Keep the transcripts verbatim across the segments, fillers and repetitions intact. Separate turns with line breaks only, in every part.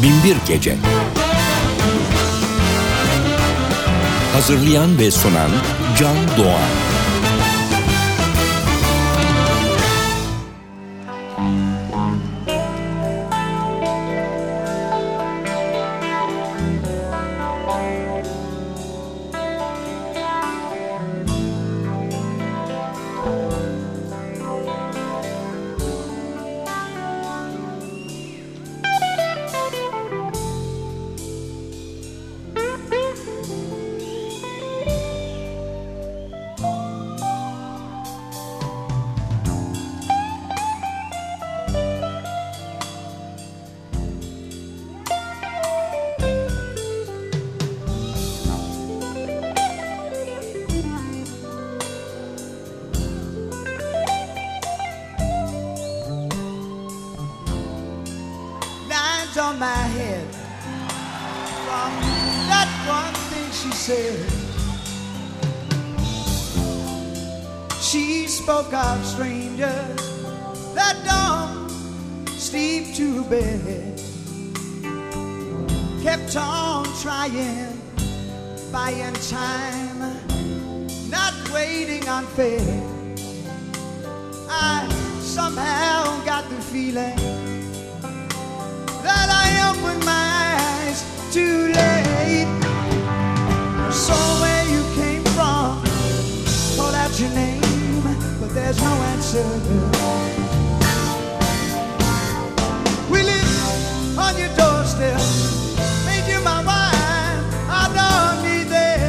Binbir Gece. Hazırlayan ve sunan Can Doğan.
On my head from that one thing she said. She spoke of strangers that don't sleep to bed, kept on trying, buying time, not waiting on fate. I somehow got the feeling that I opened my eyes too late. I saw where you came from, called out your name, but there's no answer. We live on your doorstep, made you my wife, I don't need that.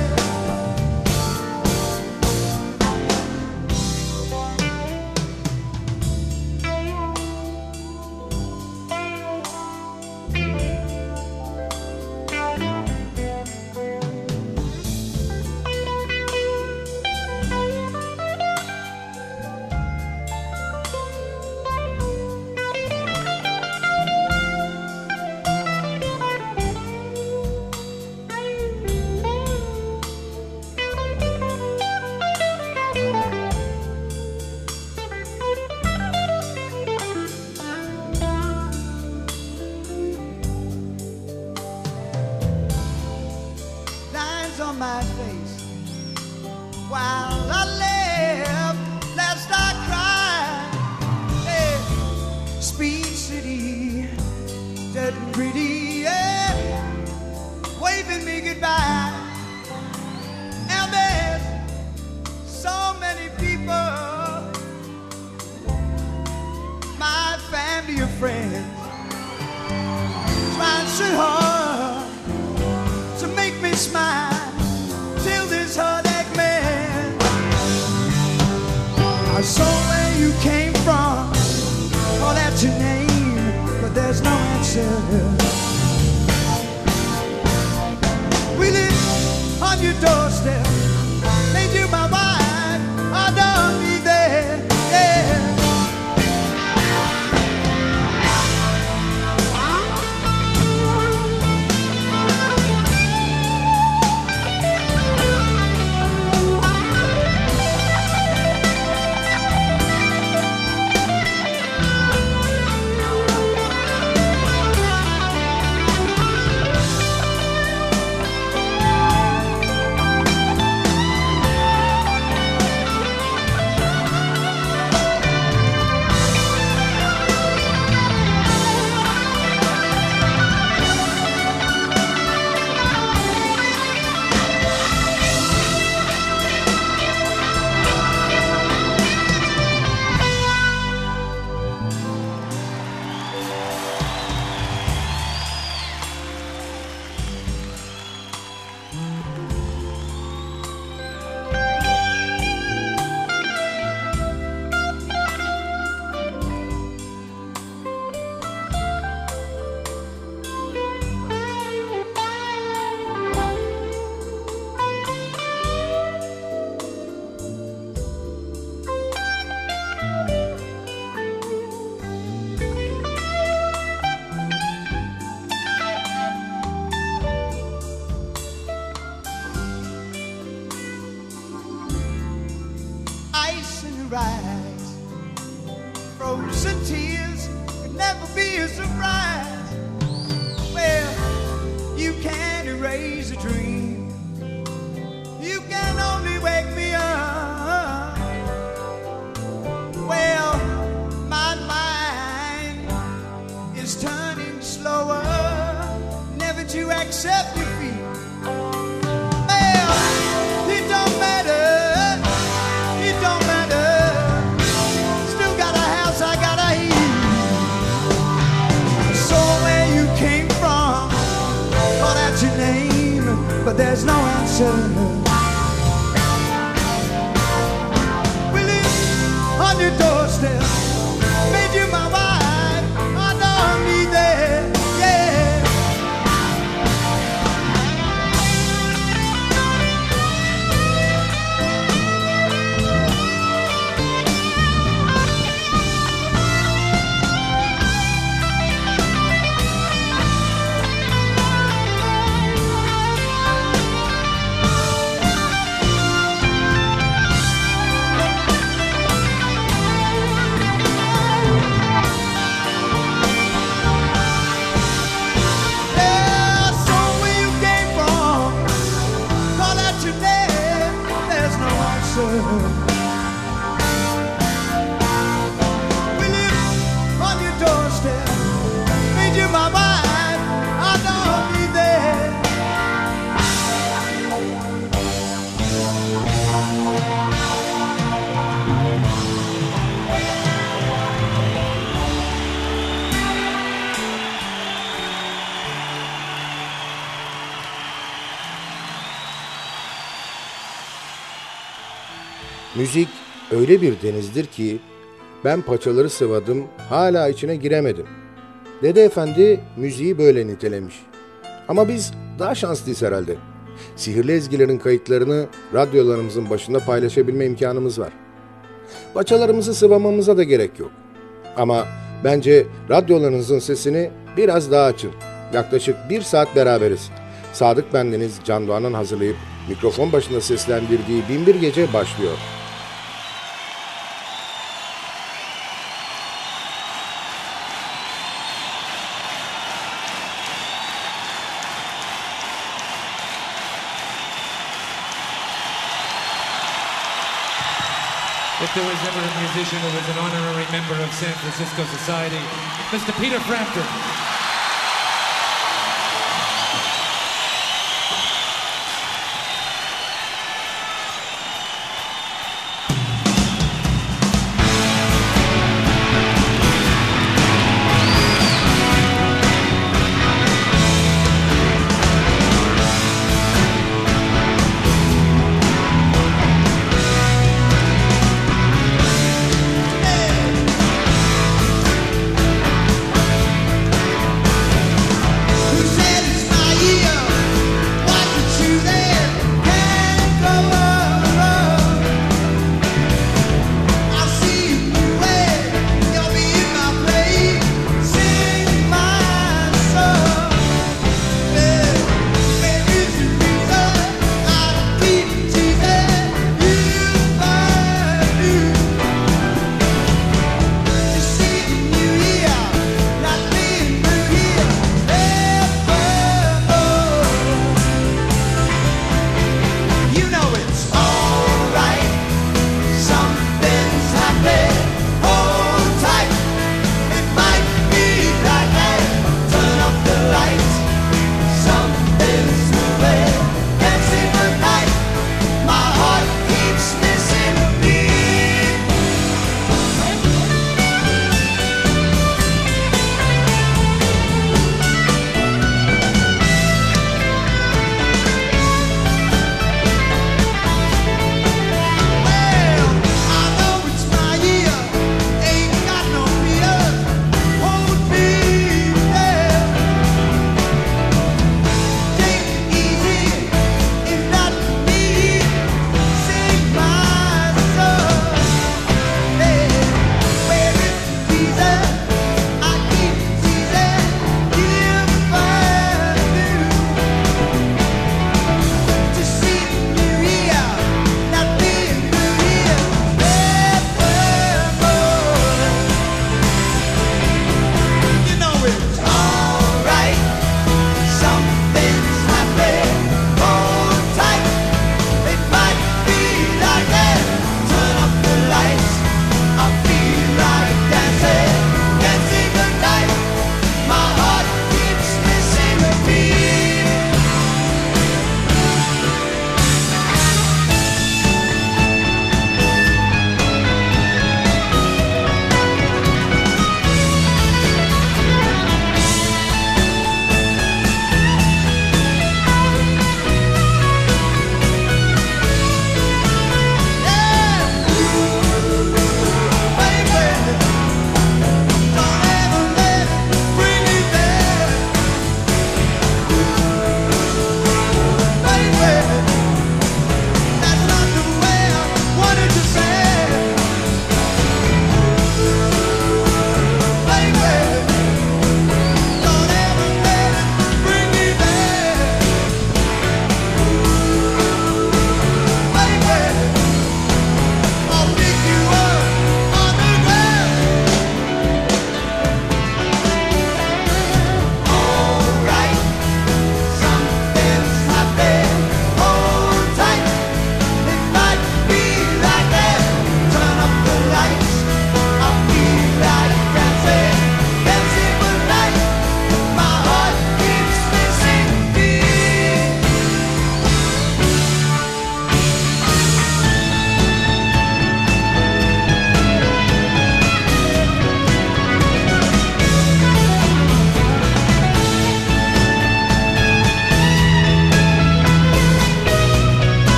On my face while I live, lest I cry. Hey, Speed City, dead and pretty, yeah, waving me goodbye. And there's so many people, my family and friends, trying so hard to make me smile. This heartache man, I saw where you came from, called out your name, but there's no answer. We live on your doorstep, made you my wife, I don't need that, yeah. crazy dream. You can only wake me up. Well, my mind is turning slower, never to accept defeat. Well, it don't matter, it don't matter. Still got a house, I got a heat. So where you came from, call out your name, but there's no answer. We live on your doorstep, made you my wife, I don't need that, yeah. Yeah, so where you came from, call out your name, there's no answer. We live on your doorstep, made you my wife, I don't need that.
Müzik öyle bir denizdir ki ben paçaları sıvadım, hala içine giremedim. Dede Efendi müziği böyle nitelemiş. Ama biz daha şanslıyız herhalde. Sihirli ezgilerin kayıtlarını radyolarımızın başında paylaşabilme imkanımız var. Paçalarımızı sıvamamıza da gerek yok. Ama bence radyolarınızın sesini biraz daha açın. Yaklaşık bir saat beraberiz. Sadık bendeniz Can Doğan'ın hazırlayıp mikrofon başında seslendirdiği Binbir Gece başlıyor.
If there was ever a musician who was an honorary member of San Francisco Society, Mister Peter Frampton.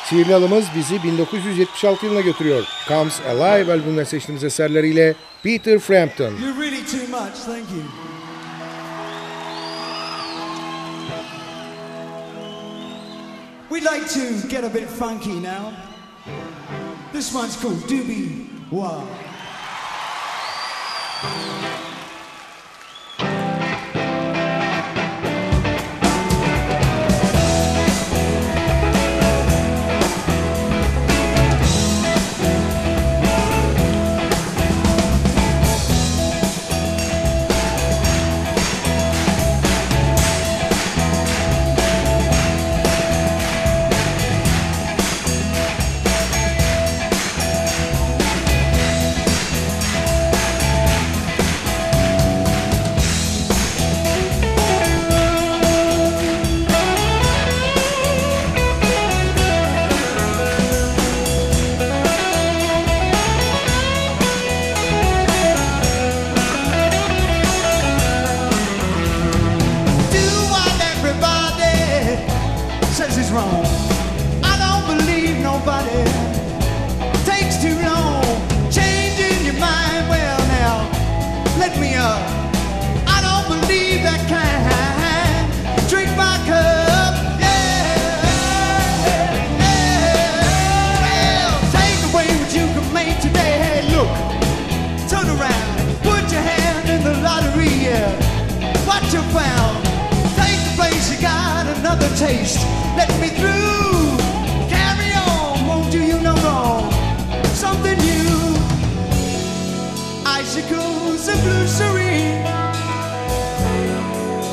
Sihirli Alımız bizi bin dokuz yüz yetmiş altı yılına götürüyor. Comes Alive albümünden seçtiğimiz eserleriyle Peter Frampton.
You're really too much, thank you. We'd like to get a bit funky now. This one's called Doobie Wah. Wrong. I don't believe nobody takes too long changing your mind. Well, now let me up. I don't believe that kind. Drink my cup, yeah, yeah. Well, take away what you can make today. Hey, look, turn around, put your hand in the lottery. Yeah, what you found? Take the place you got, another taste. Let me through, carry on, won't do you no wrong. Something new, icicles and blue serene.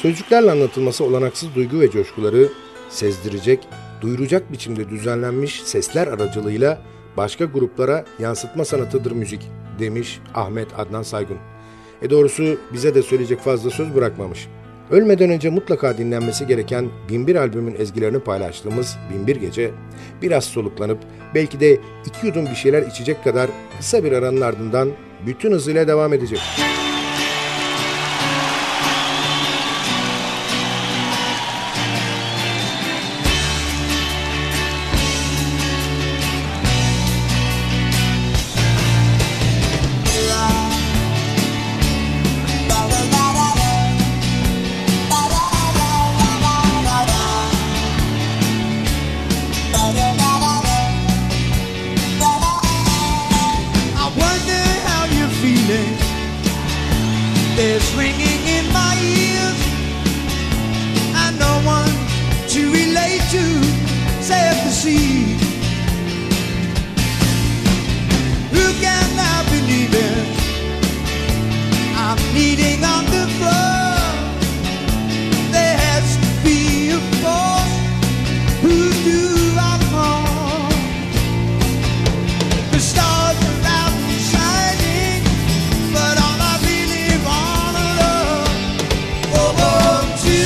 Sözcüklerle anlatılması olanaksız duygu ve coşkuları sezdirecek, duyuracak biçimde düzenlenmiş sesler aracılığıyla başka gruplara yansıtma sanatıdır müzik, demiş Ahmet Adnan Saygun. E doğrusu bize de söyleyecek fazla söz bırakmamış. Ölmeden önce mutlaka dinlenmesi gereken Binbir albümün ezgilerini paylaştığımız Binbir Gece, biraz soluklanıp belki de iki yudum bir şeyler içecek kadar kısa bir aranın ardından bütün hızıyla devam edecek.
There's ringing in my ears, and no one to relate to save the sea. Who can now believe it? I'm kneading on the floor. There has to be a force. Who do I call? The stars are out and shining, but all I really wanna love, oh, oh, to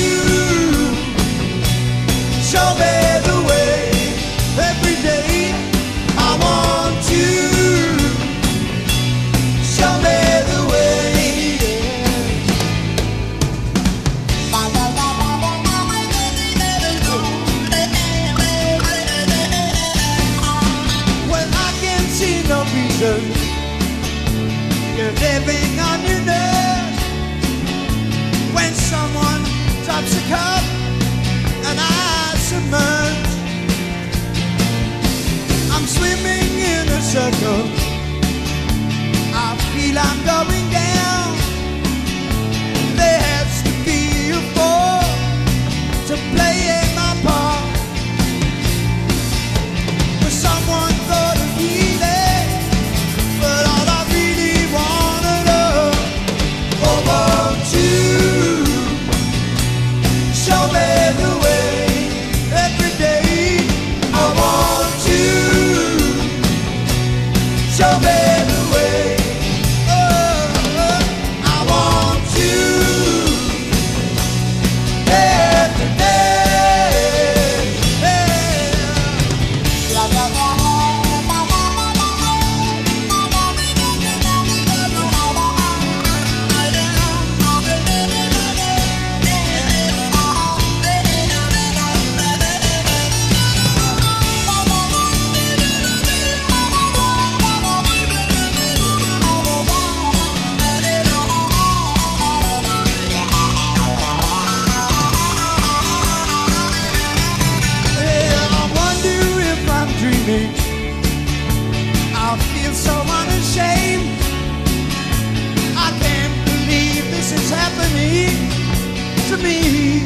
show me the way every day. I want to show me the way. When I can see no reason, you're living on your nerves. When someone drops a cup and I submerge, I'm swimming in a circle. I feel I'm going down. There has to be a force to play in my part. For someone gonna be there, but all I really wanna know, oh, oh, to show me the way every day. I want to show me the way. Oh, oh, I want to every day. Yeah, I wonder if I'm dreaming. I feel so unashamed. I can't believe this is happening to me.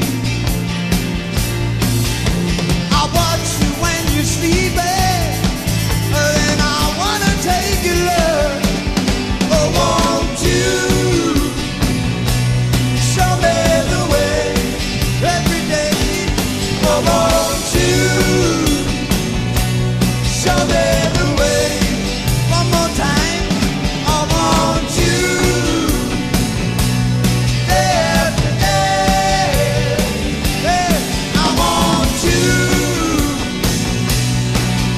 I watch you when you're sleeping, and I wanna take your love. Oh, won't you show me the way every day? Oh, won't you show me the way one more time? I want you every day. Yeah, I want you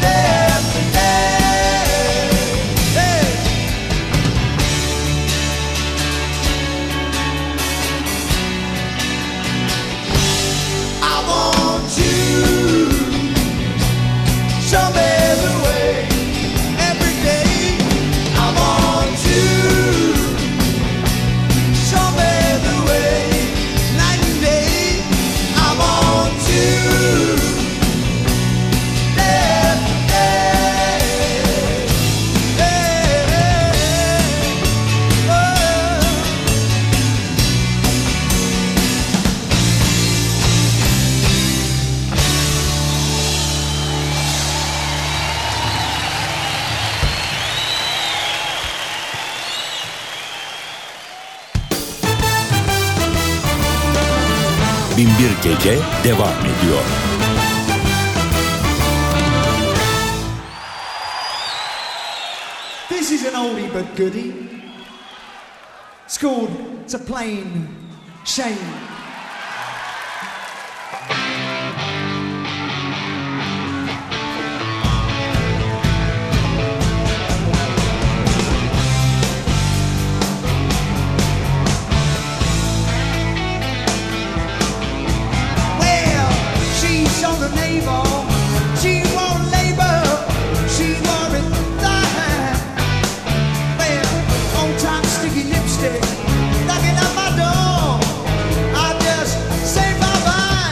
Gece devam ediyor.
This is an oldie but goodie. It's called It's a Plain Shame. Knocking at my door, I just say bye bye.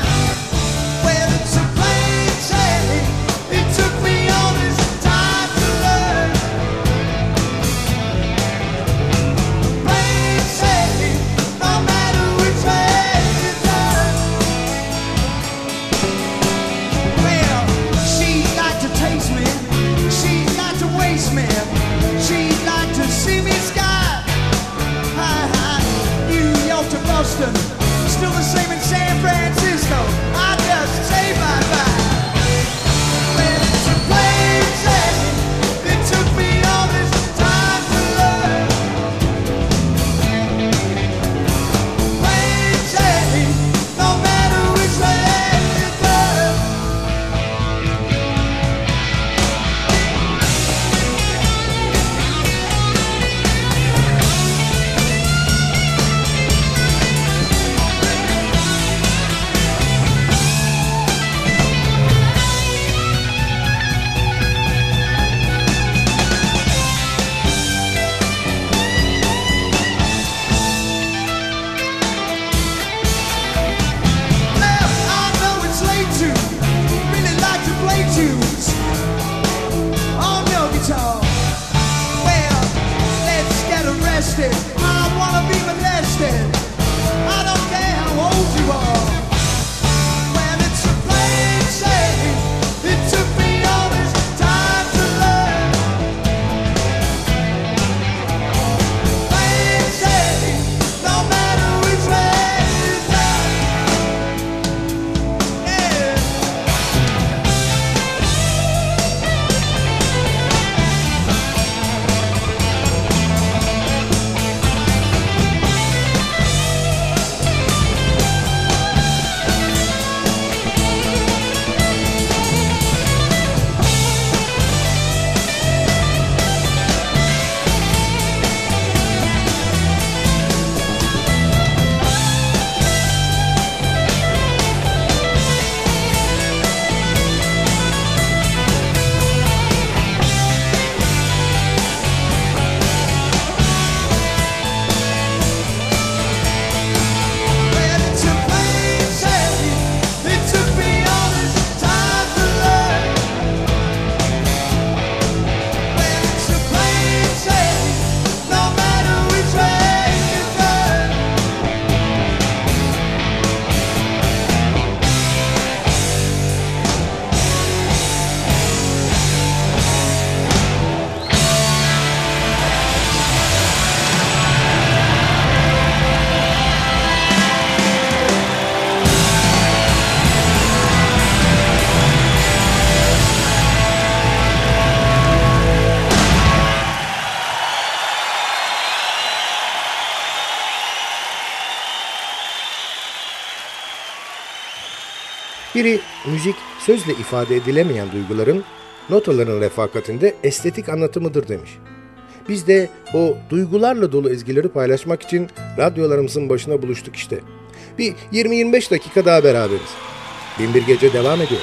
Biri müzik sözle ifade edilemeyen duyguların notaların refakatinde estetik anlatımıdır demiş. Biz de o duygularla dolu ezgileri paylaşmak için radyolarımızın başına buluştuk işte. Bir yirmi yirmi beş dakika daha beraberiz. Bin bir Gece devam ediyor.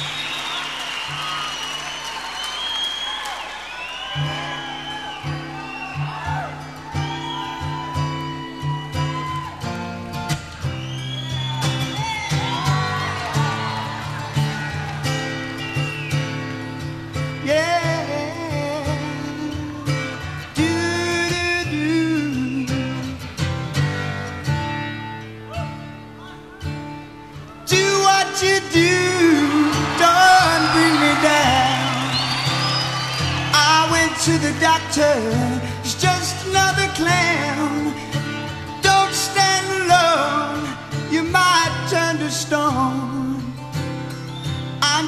To the doctor, he's just another clown. Don't stand alone, you might turn to stone.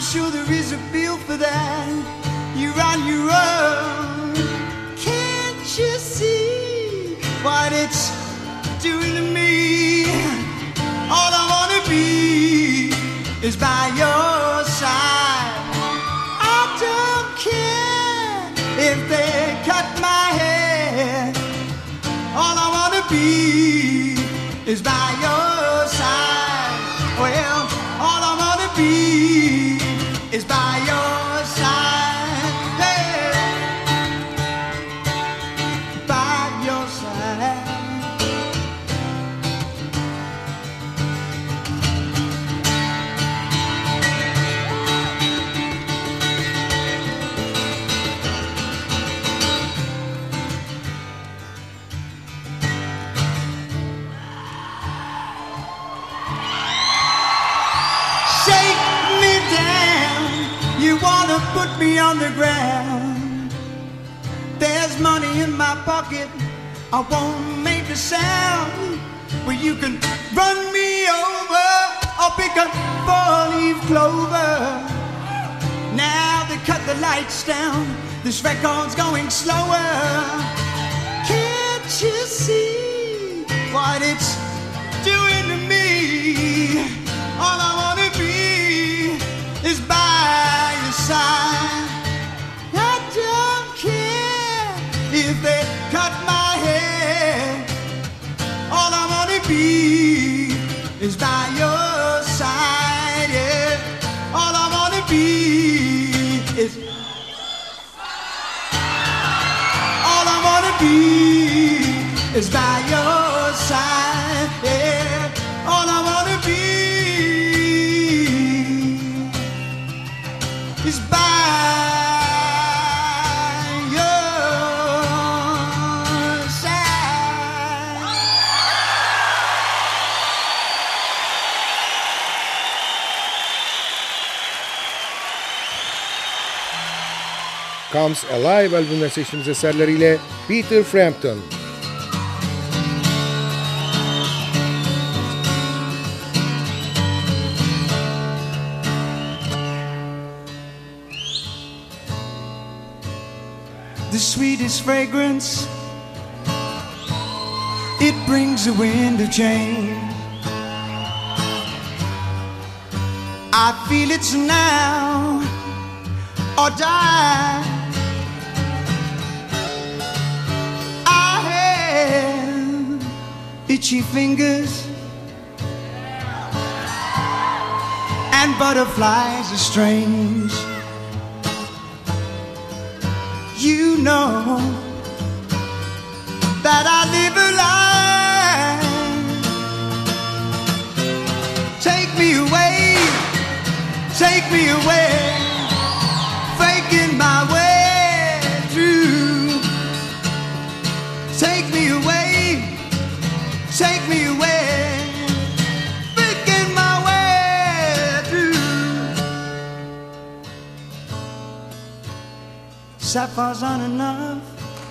I'm sure there is a bill for that. You're on your own. Can't you see what it's doing to me? All I wanna be is by your side. I don't care if they cut my hair. All I wanna be is by your side. Well, all I wanna be is by your side. Hey, by your side. Put me on the ground. There's money in my pocket. I won't make a sound. Well, you can run me over or pick a four-leaf clover. Now they cut the lights down. This record's going slower. Can't you see what it's doing to me? All I wanna be is by your side. I don't care if they cut my hair. All I wanna be is by your side. Yeah. All I wanna be is. All I wanna be is by your side. Yeah. All I wanna be is by your side.
Comes Alive albümüne seçtiğimiz eserleriyle Peter Frampton.
The sweetest fragrance, it brings a wind of change. I feel it's now or die. I have itchy fingers and butterflies are strange. You know that I live a lie. Take me away, take me away, faking my way through. Take me away, take me away, faking my way through. Sapphires aren't enough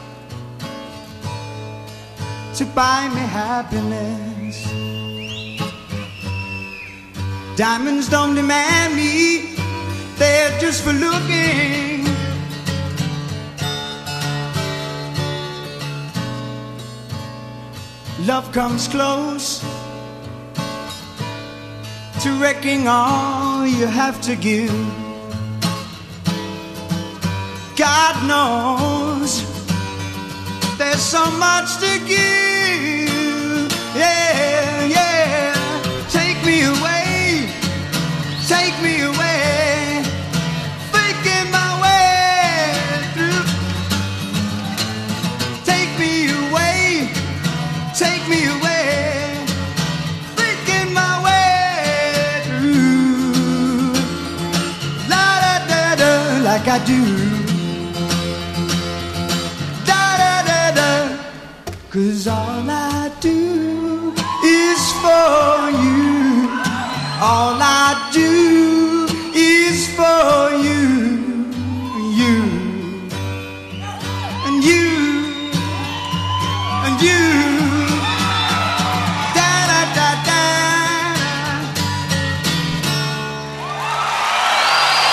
to buy me happiness. Diamonds don't demand me, they're just for looking. Love comes close to wrecking all you have to give. God knows there's so much to give. Yeah, yeah. Take me away, take me away, faking my way through. Take me away, take me away, faking my way through. La da da da, like I do. 'Cause all I do is for you. All I do is for you. You and you and you. Da da da da.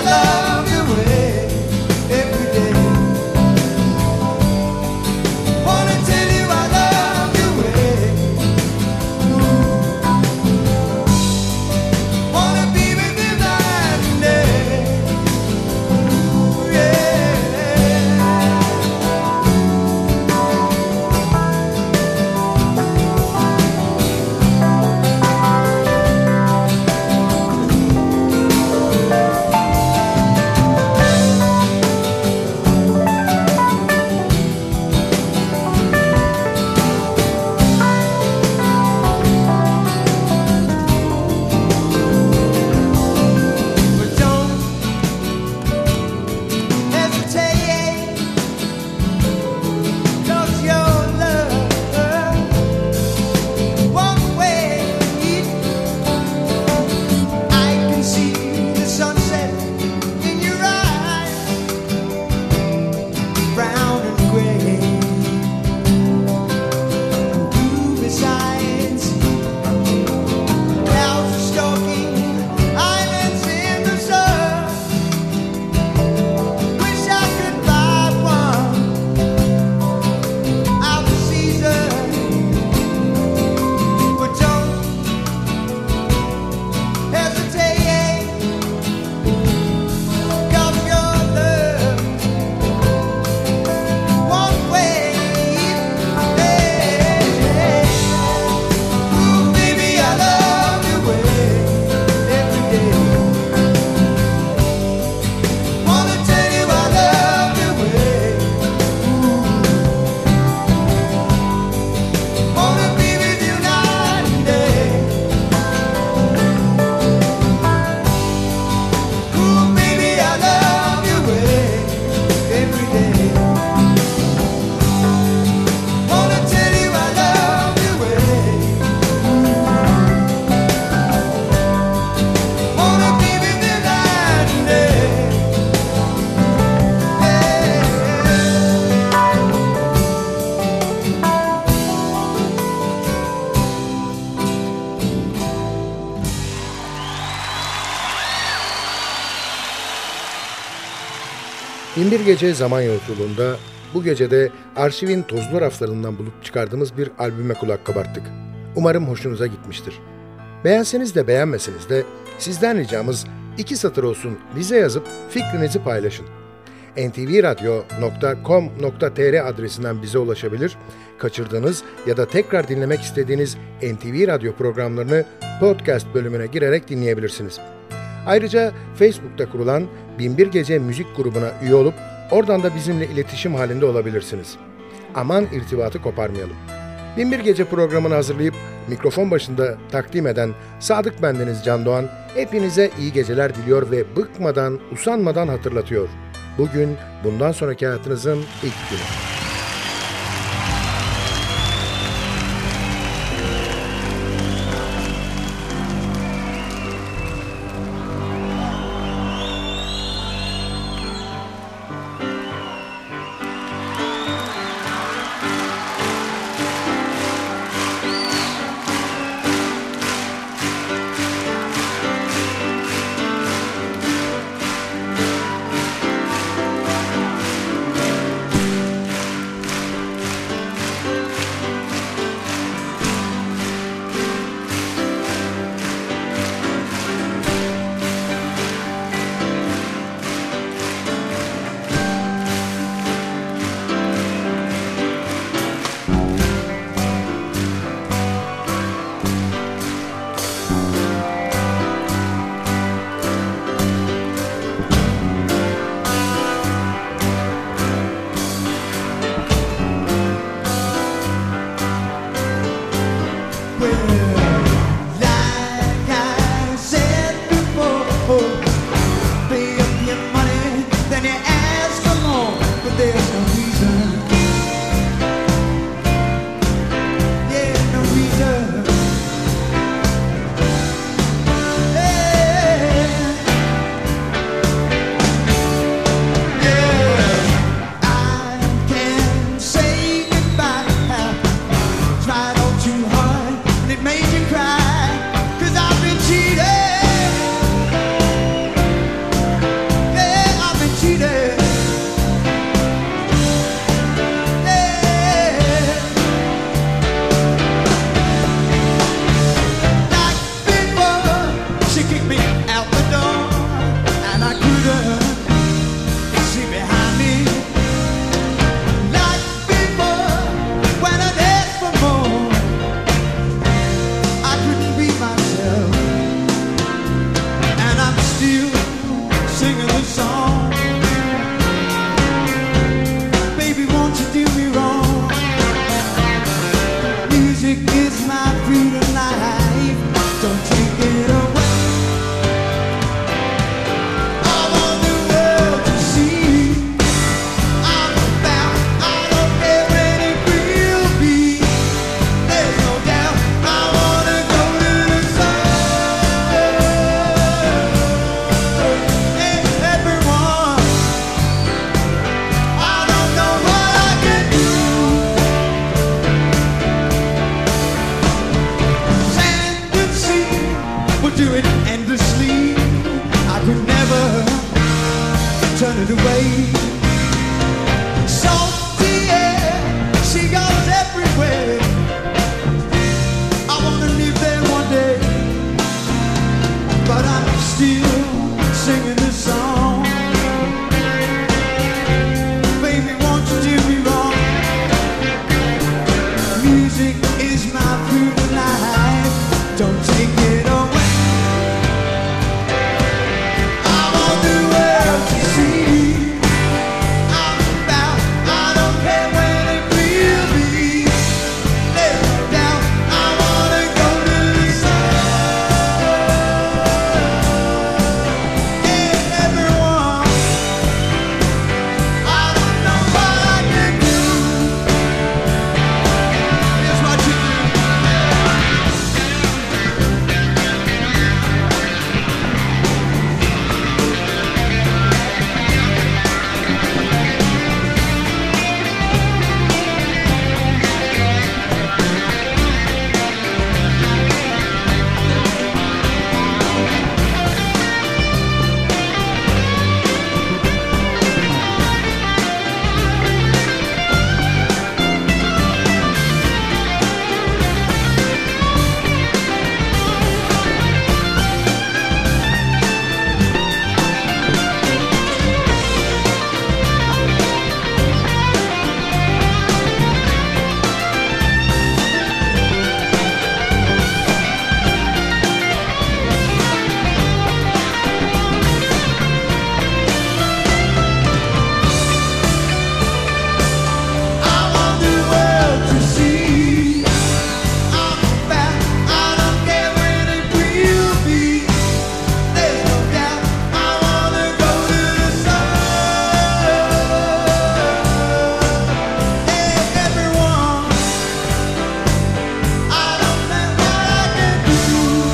love your way every day. Wanna tell you I love your way. Ooh. Wanna be with you night and day. Ooh, yeah. But don't hesitate, 'cause your love won't wait. I can see the sunset in your eyes, brown and gray. Blue besides, clouds are stalking islands in the sun. Wish I could buy one out of season, but don't hesitate, 'cause your love won't wait. Hey. Ooh, baby, I love your way every day. Wanna tell you I love your way. Ooh. Wanna be with you night and day. Ooh, baby, I love your way every day. Wanna tell you I love your way. Wanna be with you night and day.
Binbir Gece zaman yolculuğunda bu gecede arşivin tozlu raflarından bulup çıkardığımız bir albüme kulak kabarttık. Umarım hoşunuza gitmiştir. Beğenseniz de beğenmeseniz de sizden ricamız iki satır olsun bize yazıp fikrinizi paylaşın. en ti vi radyo nokta com nokta te er adresinden bize ulaşabilir, kaçırdığınız ya da tekrar dinlemek istediğiniz N T V Radyo programlarını podcast bölümüne girerek dinleyebilirsiniz. Ayrıca Facebook'ta kurulan Binbir Gece müzik grubuna üye olup oradan da bizimle iletişim halinde olabilirsiniz. Aman irtibatı koparmayalım. Binbir Gece programını hazırlayıp mikrofon başında takdim eden Sadık Bendeniz Can Doğan hepinize iyi geceler diliyor ve bıkmadan, usanmadan hatırlatıyor. Bugün bundan sonraki hayatınızın ilk günü.
song. Baby, won't you do me wrong? Music is my food and life. Don't take it away. I want the world to see I'm about. I don't care when it will be. There's no doubt I wanna go to the sun. And everyone, I don't know what I can do. Sand and sea will do it endlessly. I could never turn it away. Salty air, seagulls everywhere. I wanna live there one day, but I'm still singing this song. Baby, won't you do me wrong? Music is my food and life. Don't take it away. I want the world to see I'm about. I don't care when it will be. There's no doubt I wanna go to the sun. And everyone, I don't know what I can do. Here's what you do. I want the world to see I'm about. I don't care when it will be. There's no doubt I wanna go to the sun. And everyone, I don't know what I can do.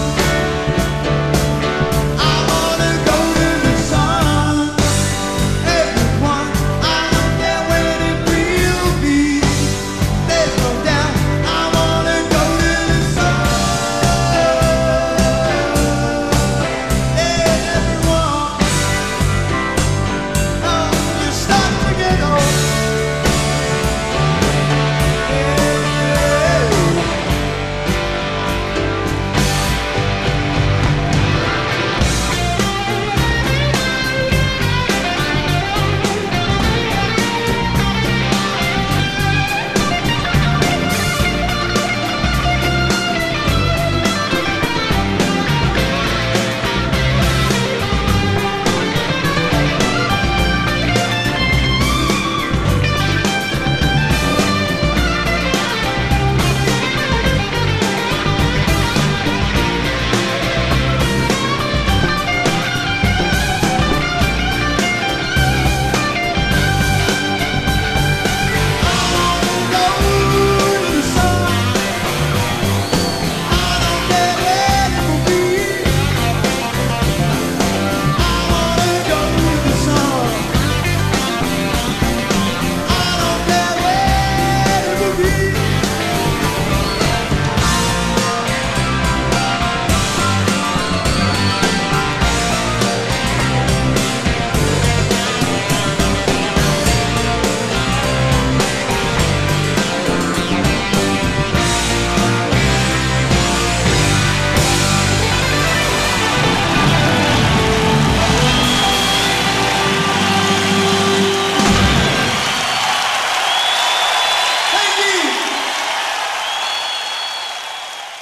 I wanna go to the sun. Everyone, I don't care when it will be. There's no doubt I wanna go to the sun. And everyone, oh, you start to get old.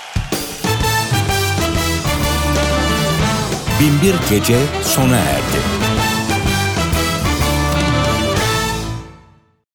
Binbir Gece sona erdi.